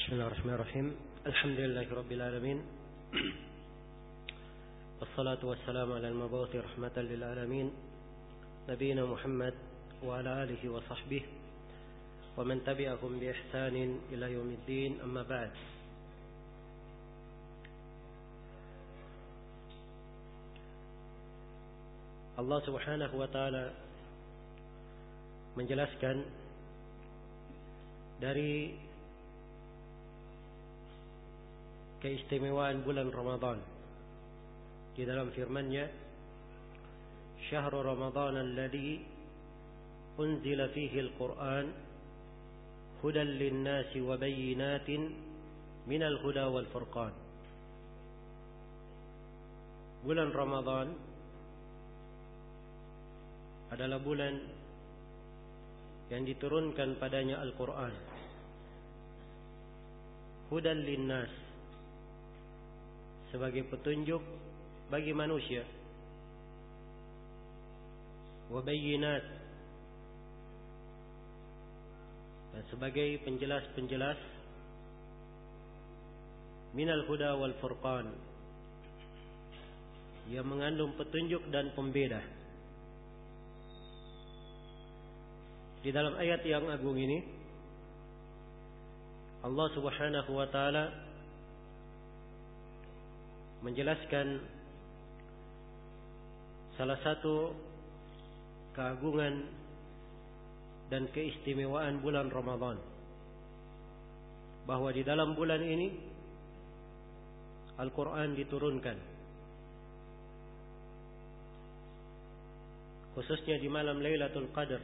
Bismillahirrahmanirrahim. Alhamdulillahirabbil alamin. Wassalatu wassalamu ala al-mabu'uthi rahmatan lil alamin, nabiyina Muhammad wa ala alihi wa sahbihi wa man tabi'ahum bi ihsanin ila yaumiddin. Amma ba'd. Allah Subhanahu wa taala menjelaskan dari keistimewaan bulan Ramadan di dalam firman-Nya, "Syahrul Ramadan alladzi unzila fihi al-Qur'an hudan lin-nasi wa bayyinatin minal huda wal furqan." Bulan Ramadan adalah bulan yang diturunkan padanya Al-Quran, hudan linnas, sebagai petunjuk bagi manusia, wa bayyinat, dan sebagai penjelas-penjelas, minal huda wal furqan, yang mengandung petunjuk dan pembeda. Di dalam ayat yang agung ini, Allah Subhanahu wa taala menjelaskan salah satu keagungan dan keistimewaan bulan Ramadan, bahwa di dalam bulan ini Al-Quran diturunkan, khususnya di malam Lailatul Qadar.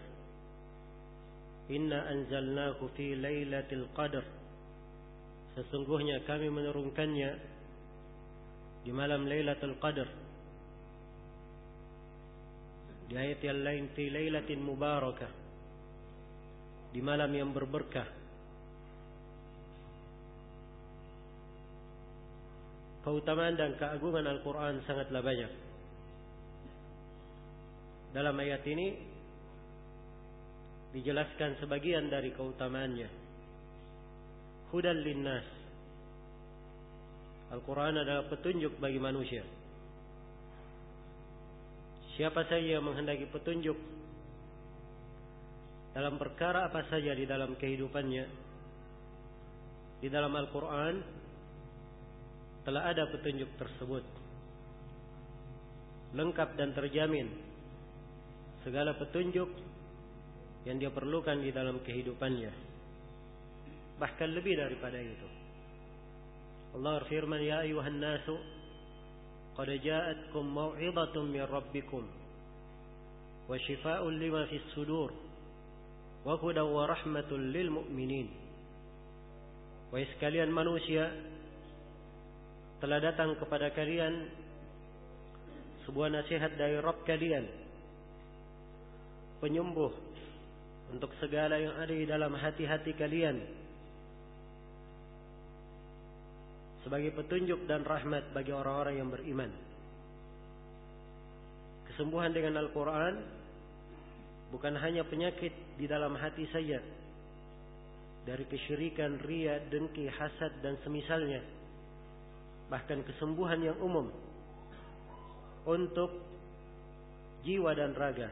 Inna anzalnahu fi Lailatul Qadar, sesungguhnya kami menurunkannya di malam Lailatul Qadar. Di ayat yang lain, fi lailatin mubarakah, di malam yang berberkah. Keutamaan dan keagungan Al-Quran sangatlah banyak. Dalam ayat ini dijelaskan sebagian dari keutamaannya. Hudan linnas, Al-Quran adalah petunjuk bagi manusia. Siapa saja yang menghendaki petunjuk dalam perkara apa saja di dalam kehidupannya, di dalam Al-Quran telah ada petunjuk tersebut, lengkap dan terjamin segala petunjuk yang dia perlukan di dalam kehidupannya, bahkan lebih daripada itu. Allah berfirman, "Ya ayuhan nasu qad ja'atkum mau'izatun min rabbikum wa shifaa'un lima fis sudur wa hudan wa rahmatun lil mu'minin." Wahai sekalian manusia, telah datang kepada kalian sebuah nasihat dari Rabb kalian, penyembuh untuk segala yang ada di dalam hati-hati kalian, sebagai petunjuk dan rahmat bagi orang-orang yang beriman. Kesembuhan dengan Al-Quran bukan hanya penyakit di dalam hati saja, dari kesyirikan, riya, dengki, hasad dan semisalnya, bahkan kesembuhan yang umum untuk jiwa dan raga.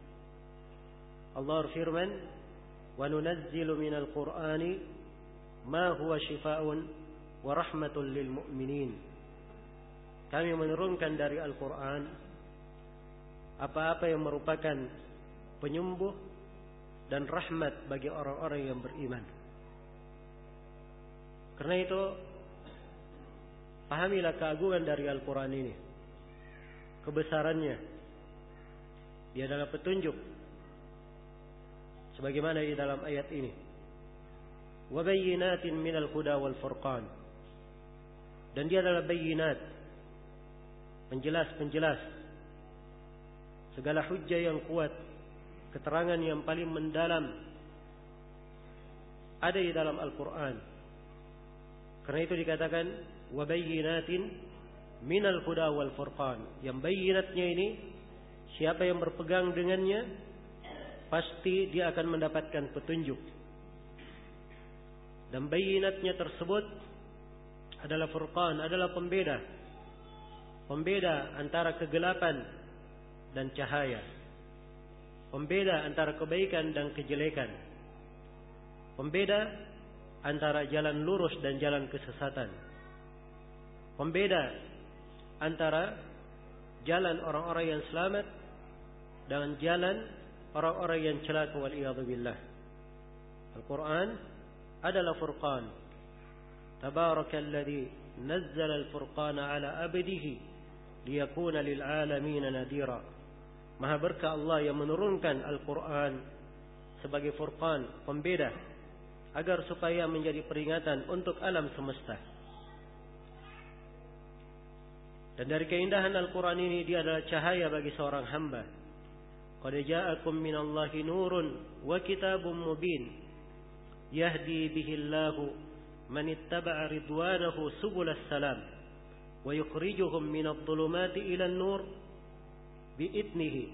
Allah berfirman, "Wa nunazzilu minal Qur'ani ma huwa shifaa'un wa rahmatul lil mu'minin." Kami menurunkan dari Al-Quran apa-apa yang merupakan penyembuh dan rahmat bagi orang-orang yang beriman. Karena itu, pahamilah keagungan dari Al-Quran ini, kebesarannya. Dia adalah petunjuk, sebagaimana di dalam ayat ini, wa bayyinatin minal huda wal furqan, dan dia adalah bayyinat, penjelas-penjelas segala hujjah yang kuat, keterangan yang paling mendalam ada di dalam Al-Quran. Karena itu dikatakan wa bayyinatin minal huda wal furqan. Yang bayyinatnya ini, siapa yang berpegang dengannya pasti dia akan mendapatkan petunjuk. Dan bayinatnya tersebut adalah furqan, adalah pembeda. Pembeda antara kegelapan dan cahaya. Pembeda antara kebaikan dan kejelekan. Pembeda antara jalan lurus dan jalan kesesatan. Pembeda antara jalan orang-orang yang selamat dengan jalan orang-orang yang celaka wal-iyadzu billah. Al-Quran adalah furqan. Tabarakalladzi nazzala al-furqana ala abdihi liyakuna lil alamin nadira. Maha berkah Allah yang menurunkan Al-Quran sebagai furqan, pembeda, agar supaya menjadi peringatan untuk alam semesta. Dan dari keindahan Al-Quran ini, dia adalah cahaya bagi seorang hamba. Qad ja'akum minallahi nurun wa kitabun mubin yahdi bihillahu man ittaba'a ridwanahu subulas salam wa yukhrijuhum minadh dhulumati ilan nur bi'idnihi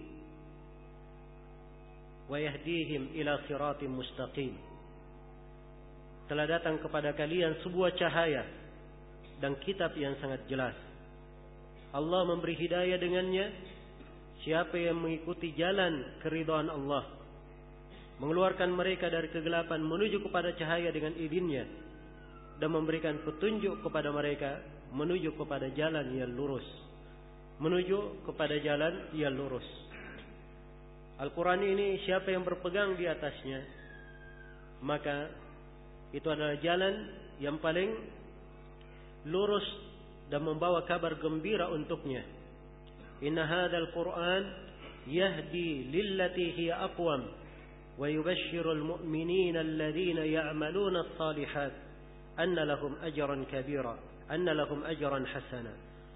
wa yahdihim ila siratim mustaqim. Telah datang kepada kalian sebuah cahaya dan kitab yang sangat jelas. Allah memberi hidayah dengannya siapa yang mengikuti jalan keridhaan Allah, mengeluarkan mereka dari kegelapan menuju kepada cahaya dengan idzinnya, dan memberikan petunjuk kepada mereka menuju kepada jalan yang lurus. Menuju kepada jalan yang lurus. Al-Quran ini siapa yang berpegang di atasnya, maka itu adalah jalan yang paling lurus dan membawa kabar gembira untuknya. Inna hadzal Qur'an yahdi lillati hiya aqwam wa yubashshirul mu'minina alladhina ya'maluna as-salihat anna lahum ajran kabira, anna lahum ajran hasana.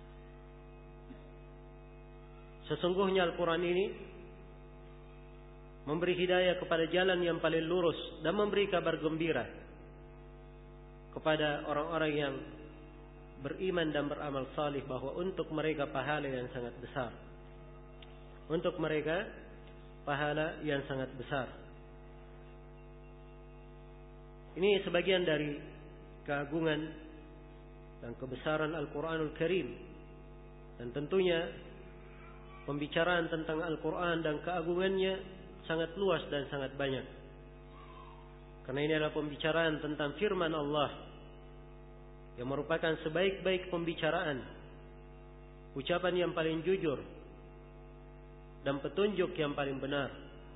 Sesungguhnya Al-Quran ini memberi hidayah kepada jalan yang paling lurus dan memberi kabar gembira kepada orang-orang yang beriman dan beramal salih bahwa untuk mereka pahala yang sangat besar. Untuk mereka pahala yang sangat besar. Ini sebagian dari keagungan dan kebesaran Al-Quranul Karim. Dan tentunya pembicaraan tentang Al-Quran dan keagungannya sangat luas dan sangat banyak. Karena ini adalah pembicaraan tentang firman Allah yang merupakan sebaik-baik pembicaraan, ucapan yang paling jujur, dan petunjuk yang paling benar.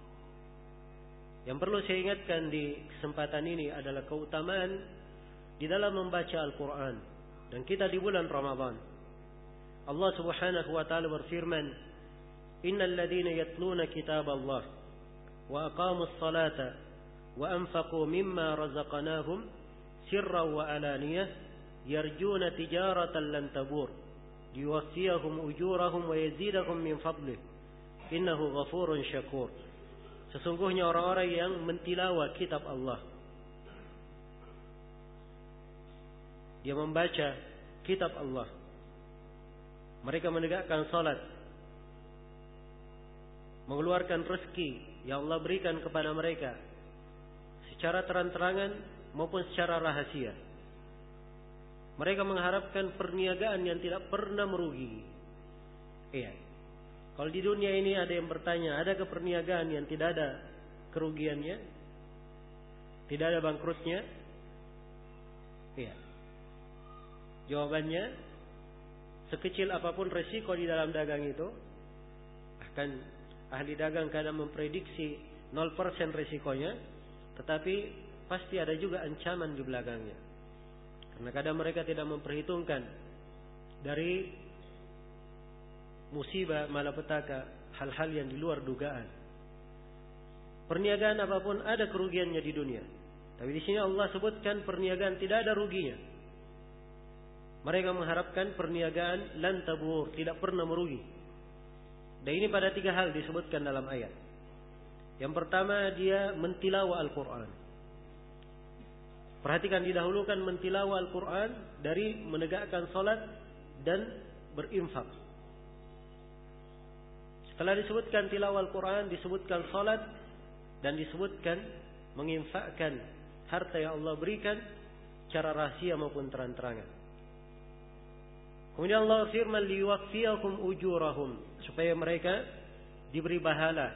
Yang perlu saya ingatkan di kesempatan ini adalah keutamaan di dalam membaca Al-Quran. Dan kita di bulan Ramadan. Allah Subhanahu wa ta'ala berfirman, Innal ladhina yatluna kitab Allah wa aqamus salata wa anfaqu mimma razaqnahum sirran wa alaniyah yarjuna tijaratan lan tabur liwaffiyahum ujurahum wa yazidahum min fadlih innahu ghafurun syakur. Sesungguhnya orang-orang yang mentilawah kitab Allah, dia membaca kitab Allah, mereka menegakkan salat, mengeluarkan rezeki yang Allah berikan kepada mereka secara terang-terangan maupun secara rahasia. Mereka mengharapkan perniagaan yang tidak pernah merugi. Iya. Kalau di dunia ini ada yang bertanya, adakah perniagaan yang tidak ada kerugiannya? Tidak ada bangkrutnya? Iya. Jawabannya, sekecil apapun resiko di dalam dagang itu, bahkan ahli dagang kadang memprediksi 0% resikonya, tetapi pasti ada juga ancaman di belakangnya. Karena kadang mereka tidak memperhitungkan dari musibah malapetaka, hal-hal yang di luar dugaan. Perniagaan apapun ada kerugiannya di dunia. Tapi di sini Allah sebutkan perniagaan tidak ada ruginya. Mereka mengharapkan perniagaan lan tabur, tidak pernah merugi. Dan ini pada 3 hal disebutkan dalam ayat. Yang pertama, dia mentilawah Al-Quran. Perhatikan, didahulukan mentilawah Al-Quran dari menegakkan salat dan berinfak. Setelah disebutkan tilawah Al-Quran, disebutkan salat dan disebutkan menginfakkan harta yang Allah berikan secara rahasia maupun terang-terangan. Kemudian Allah firman liwaqfiyakum ujurahum, supaya mereka diberi pahala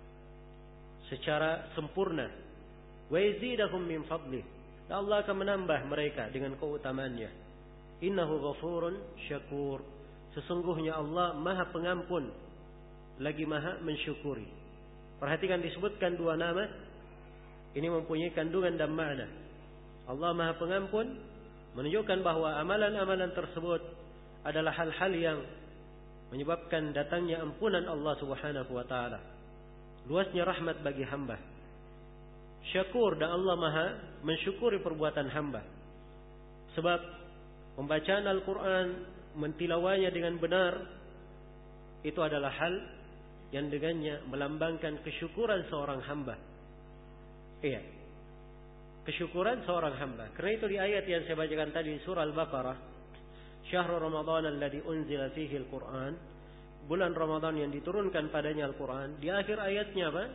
secara sempurna. Wa yazidahum min fadlih, dan Allah akan menambah mereka dengan keutamaannya. Innahu ghafurun syakur, sesungguhnya Allah Maha Pengampun lagi Maha Mensyukuri. Perhatikan disebutkan dua nama, ini mempunyai kandungan dan makna. Allah Maha Pengampun menunjukkan bahwa amalan-amalan tersebut adalah hal-hal yang menyebabkan datangnya ampunan Allah Subhanahu wa taala. Luasnya rahmat bagi hamba. Syakur, dan Allah Maha mensyukuri perbuatan hamba. Sebab pembacaan Al-Quran, mentilawanya dengan benar, itu adalah hal yang dengannya melambangkan kesyukuran seorang hamba. Iya, kesyukuran seorang hamba. Karena itu di ayat yang saya bacakan tadi surah Al-Baqarah, Syahrul Ramadan alladzi unzila fihi al-Quran, bulan Ramadan yang diturunkan padanya Al-Quran. Di akhir ayatnya apa?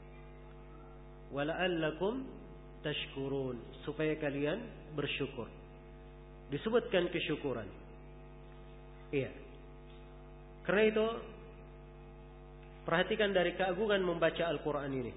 Wala'allakum tashkurun, supaya kalian bersyukur. Disebutkan kesyukuran. Iya. Karena itu perhatikan dari keagungan membaca Al-Quran ini.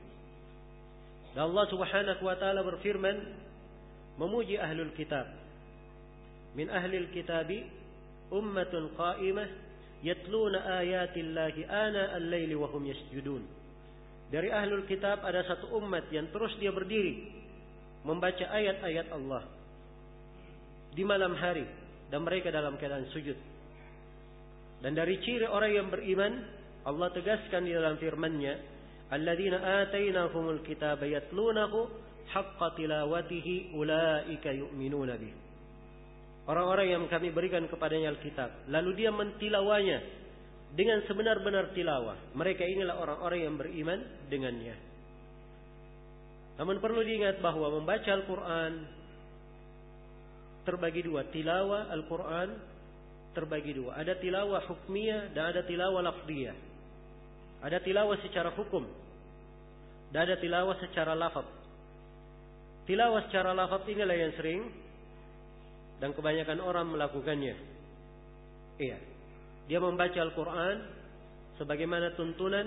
Dan Allah Subhanahu wa taala berfirman memuji ahlul kitab. Min ahlil kitabi ummatun qa'imah yatluna ayatillahi ana al-laili wa hum yasjudun. Dari ahlul kitab ada satu umat yang terus dia berdiri membaca ayat-ayat Allah di malam hari dan mereka dalam keadaan sujud. Dan dari ciri orang yang beriman, Allah tegaskan di dalam firman-Nya, alladzina atainahumul kitaba yatlunahu haqqa tilawatihi ulaika yu'minuna bih. Orang-orang yang kami berikan kepadanya Alkitab, lalu dia mentilawanya dengan sebenar-benar tilawah, mereka inilah orang-orang yang beriman dengannya. Namun perlu diingat bahwa membaca Al-Quran terbagi dua. Tilawah Al-Quran terbagi dua. Ada tilawah hukmiyah dan ada tilawah lafziyah. Ada tilawah secara hukum dan ada tilawah secara lafaz. Tilawah secara lafaz inilah yang sering dan kebanyakan orang melakukannya. Iya, dia membaca Al-Quran sebagaimana tuntunan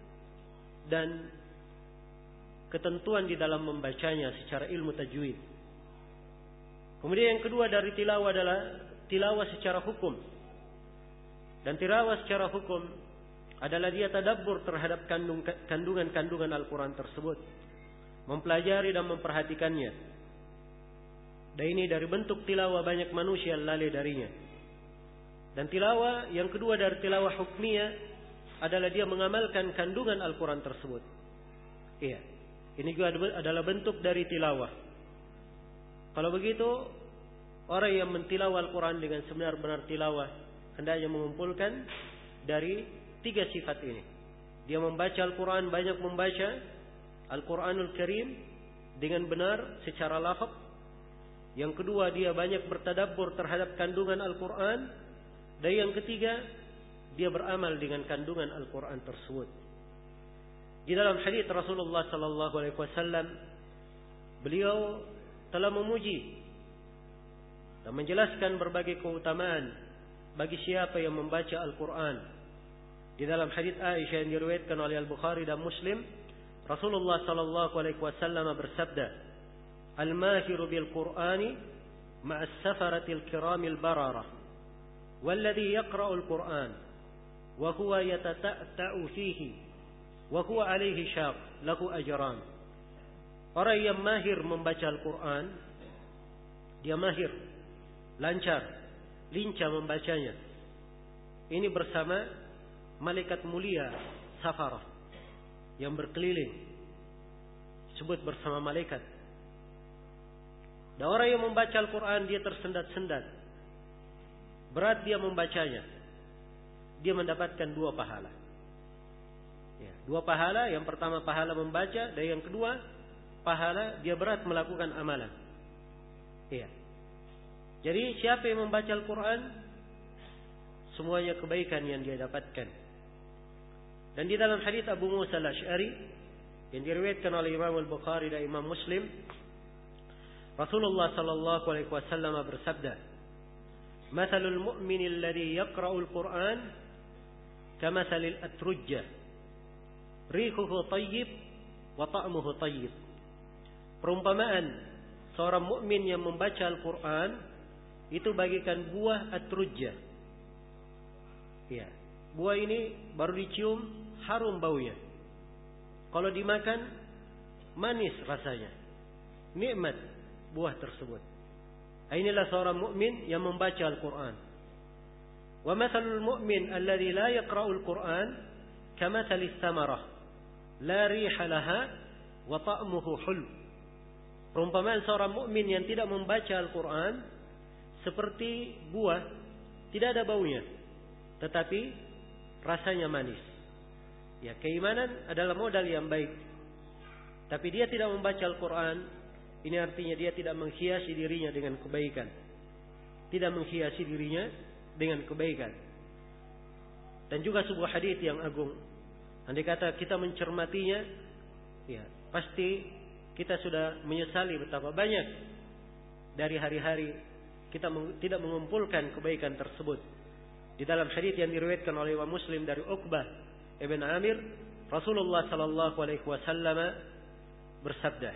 dan ketentuan di dalam membacanya secara ilmu tajwid. Kemudian yang kedua dari tilawah adalah tilawah secara hukum. Dan tilawah secara hukum adalah dia tadabbur terhadap kandungan-kandungan Al-Quran tersebut, mempelajari dan memperhatikannya. Dan ini dari bentuk tilawah banyak manusia lalai darinya. Dan tilawah yang kedua dari tilawah hukmiyah adalah dia mengamalkan kandungan Al-Quran tersebut. Iya, ini juga adalah bentuk dari tilawah. Kalau begitu, orang yang mentilawah Al-Quran dengan sebenar-benar tilawah hendaknya mengumpulkan dari tiga sifat ini. Dia membaca Al-Quran, banyak membaca Al-Quranul Karim dengan benar secara lafaz. Yang kedua, dia banyak bertadabbur terhadap kandungan Al-Quran. Dan yang ketiga, dia beramal dengan kandungan Al-Quran tersebut. Di dalam hadits Rasulullah sallallahu alaihi wasallam, beliau telah memuji dan menjelaskan berbagai keutamaan bagi siapa yang membaca Al-Quran. Di dalam hadits Aisyah yang diriwayatkan oleh Al-Bukhari dan Muslim, Rasulullah sallallahu alaihi wasallam bersabda, "Al-mahiru bil Qur'ani ma'as safaratil kiramil bararah, walladhi yaqra'ul Qur'an wa huwa yatata'u fihi wa huwa alaihi syaq lahu ajran." Orang yang mahir membaca Al-Quran, dia mahir, lancar, lincah membacanya. Ini bersama malaikat mulia safarah yang berkeliling, disebut bersama malaikat. Dan orang yang membaca Al-Quran dia tersendat-sendat, berat dia membacanya, dia mendapatkan dua pahala. Ya, dua pahala. Yang pertama pahala membaca, dan yang kedua pahala dia berat melakukan amalan. Iya. Jadi siapa yang membaca Al-Quran, semuanya kebaikan yang dia dapatkan. Dan di dalam hadits Abu Musa Al-Asy'ari yang diriwayatkan oleh Imam Al-Bukhari dan Imam Muslim, Rasulullah sallallahu alaihi wasallam bersabda, "Matsalul mu'minil ladzi yaqra'ul Qur'an kamatsalil atrujjah, rihuhu thayyib wa ta'muhu thayyib." Perumpamaan seorang mukmin yang membaca Al-Qur'an itu bagikan buah atrujjah. Ya, buah ini baru dicium harum baunya. Kalau dimakan manis rasanya. Nikmat buah tersebut. Inilah seorang mukmin yang membaca Al-Qur'an. Wa matsalul mu'min alladzi la yaqra'ul Qur'an kamatsalis samarah la riha laha wa ta'muhu hulw. Perumpamaan seorang mukmin yang tidak membaca Al-Qur'an seperti buah, tidak ada baunya, tetapi rasanya manis. Ya, keimanan adalah modal yang baik. Tapi dia tidak membaca Al-Qur'an, ini artinya dia tidak menghiasi dirinya dengan kebaikan. Tidak menghiasi dirinya dengan kebaikan. Dan juga sebuah hadis yang agung. Andai kata kita mencermatinya, ya, pasti kita sudah menyesali betapa banyak dari hari-hari kita tidak mengumpulkan kebaikan tersebut. Di dalam hadis yang diriwayatkan oleh Imam Muslim dari Uqbah ibn Amir, Rasulullah sallallahu alaihi wasallam bersabda,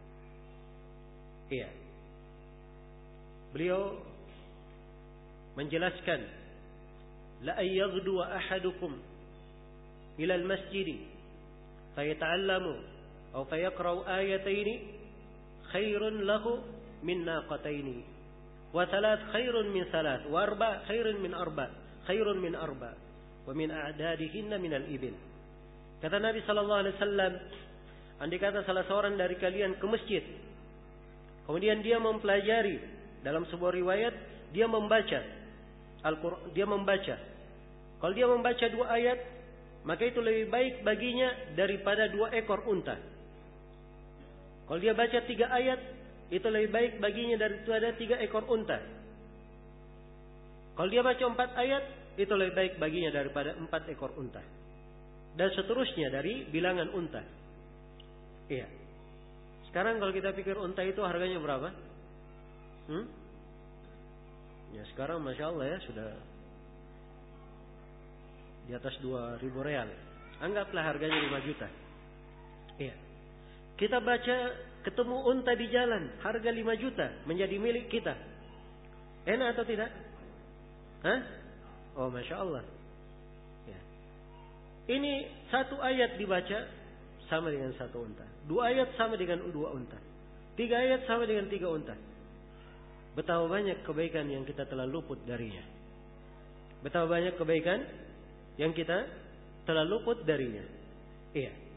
iya, beliau menjelaskan, la ayyaghdu ahadukum ila al-masjid fayata'allamu atau fayaqra'u ayataini khairun lahu min naqataini wa thalath khairun min thalath wa arba khairun min arba khairun min arba wa min a'dadihinna min al-ibil. Kata Nabi sallallahu alaihi wasallam, andai kata salah seorang dari kalian ke masjid, kemudian dia mempelajari, dalam sebuah riwayat dia membaca Al-Qur'an, dia membaca. Kalau dia membaca 2 ayat, maka itu lebih baik baginya daripada 2 ekor unta. Kalau dia baca 3 ayat, itu lebih baik baginya daripada 3 ekor unta. Kalau dia baca 4 ayat, itu lebih baik baginya daripada 4 ekor unta. Dan seterusnya dari bilangan unta. Iya. Sekarang kalau kita pikir unta itu harganya berapa? Ya sekarang Masya Allah ya, sudah di atas 2.000 real. Anggaplah harganya 5 juta. Iya. Kita baca ketemu unta di jalan, harga 5 juta menjadi milik kita. Enak atau tidak? Hah? Oh Masya Allah. Ya. Ini 1 ayat dibaca sama dengan 1 unta. 2 ayat sama dengan 2 unta. 3 ayat sama dengan 3 unta. Betapa banyak kebaikan yang kita telah luput darinya. Betapa banyak kebaikan yang kita telah luput darinya. Iya.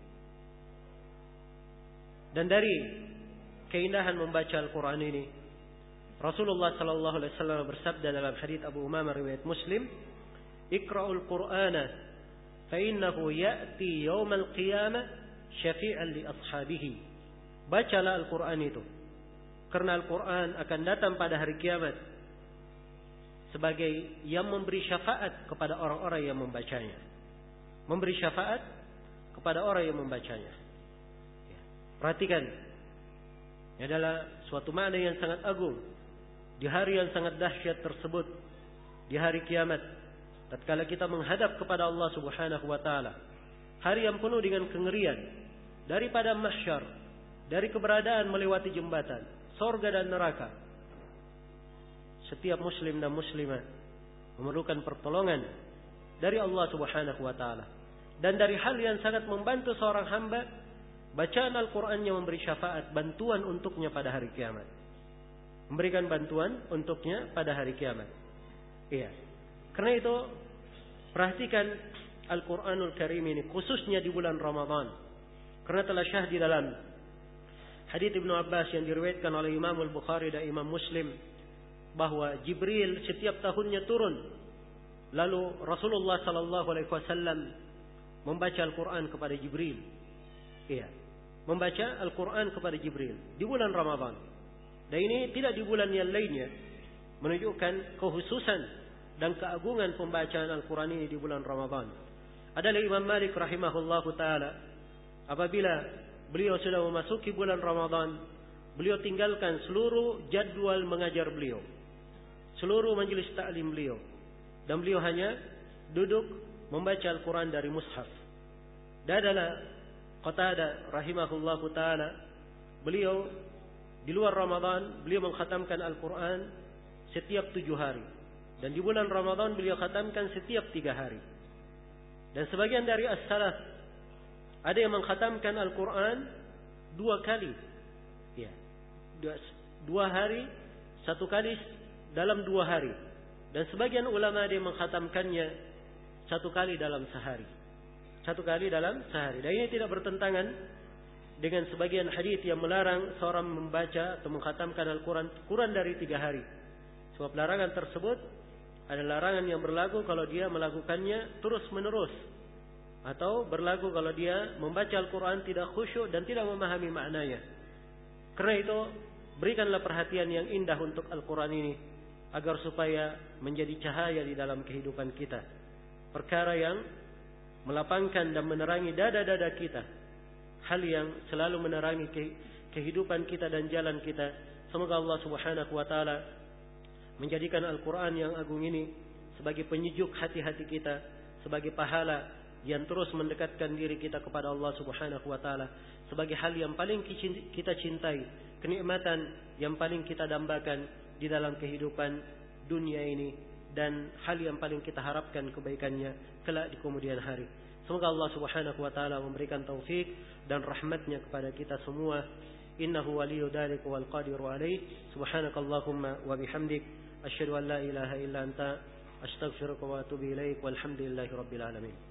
Dan dari keindahan membaca Al-Quran ini, Rasulullah sallallahu alaihi wasallam bersabda dalam hadits Abu Umamah riwayat Muslim, "Iqra'ul Qur'ana fa innahu ya'ti yaumal qiyamah syafi'an li ashabihi." Bacalah Al-Quran itu, karena Al-Quran akan datang pada hari kiamat sebagai yang memberi syafaat kepada orang-orang yang membacanya. Memberi syafaat kepada orang yang membacanya. Perhatikan, ini adalah suatu makna yang sangat agung. Di hari yang sangat dahsyat tersebut, di hari kiamat, tatkala kita menghadap kepada Allah Subhanahu wa taala, hari yang penuh dengan kengerian, daripada mahsyar, dari keberadaan melewati jembatan, surga dan neraka. Setiap muslim dan muslimah memerlukan pertolongan dari Allah Subhanahu wa taala. Dan dari hal yang sangat membantu seorang hamba, bacaan Al-Quran yang memberi syafaat, bantuan untuknya pada hari kiamat. Memberikan bantuan untuknya pada hari kiamat. Iya. Karena itu, perhatikan Al-Quranul Karim ini, khususnya di bulan Ramadan. Karena telah syahid di dalam hadits Ibnu Abbas yang diriwayatkan oleh Imam Al-Bukhari dan Imam Muslim, bahwa Jibril setiap tahunnya turun. Lalu Rasulullah sallallahu alaihi wasallam membaca Al-Quran kepada Jibril. Iya, membaca Al-Quran kepada Jibril di bulan Ramadan. Dan ini tidak di bulan yang lainnya, menunjukkan kehususan dan keagungan pembacaan Al-Quran ini di bulan Ramadan. Adalah Imam Malik rahimahullahu ta'ala, apabila beliau sudah memasuki bulan Ramadan, beliau tinggalkan seluruh jadwal mengajar beliau, seluruh majelis ta'lim beliau, dan beliau hanya duduk membaca Al-Quran dari mushaf. Dan adalah Qatadah rahimahullahu ta'ala, beliau di luar Ramadan beliau mengkhatamkan Al-Quran setiap 7 hari, dan di bulan Ramadan beliau khatamkan setiap 3 hari. Dan sebagian dari as-salaf ada yang mengkhatamkan Al-Quran 2 kali, ya, 2 hari, 1 kali dalam 2 hari. Dan sebagian ulama ada yang mengkhatamkannya 1 kali dalam sehari, 1 kali dalam sehari. Dan ini tidak bertentangan dengan sebagian hadis yang melarang seorang membaca atau mengkhatamkan Al-Quran kurang dari 3 hari. Sebab larangan tersebut ada larangan yang berlaku kalau dia melakukannya terus menerus, atau berlaku kalau dia membaca Al-Quran tidak khusyuk dan tidak memahami maknanya. Karena itu berikanlah perhatian yang indah untuk Al-Quran ini, agar supaya menjadi cahaya di dalam kehidupan kita, perkara yang melapangkan dan menerangi dada-dada kita, hal yang selalu menerangi kehidupan kita dan jalan kita. Semoga Allah Subhanahu wa ta'ala menjadikan Al-Quran yang agung ini sebagai penyejuk hati-hati kita, sebagai pahala yang terus mendekatkan diri kita kepada Allah Subhanahu wa ta'ala, sebagai hal yang paling kita cintai, kenikmatan yang paling kita dambakan di dalam kehidupan dunia ini, dan hal yang paling kita harapkan kebaikannya kelak di kemudian hari. Semoga Allah Subhanahu wa ta'ala memberikan taufik dan rahmatnya kepada kita semua. Innahu waliyyu dzalika wal qadiru alaih. Subhanakallahumma wa bihamdik, asyhadu an la ilaha illa anta, astaghfiruka wa atubu ilaik, walhamdulillahi rabbil alamin.